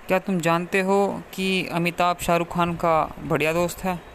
क्या तुम जानते हो कि अमिताभ शाहरुख खान का बढ़िया दोस्त है।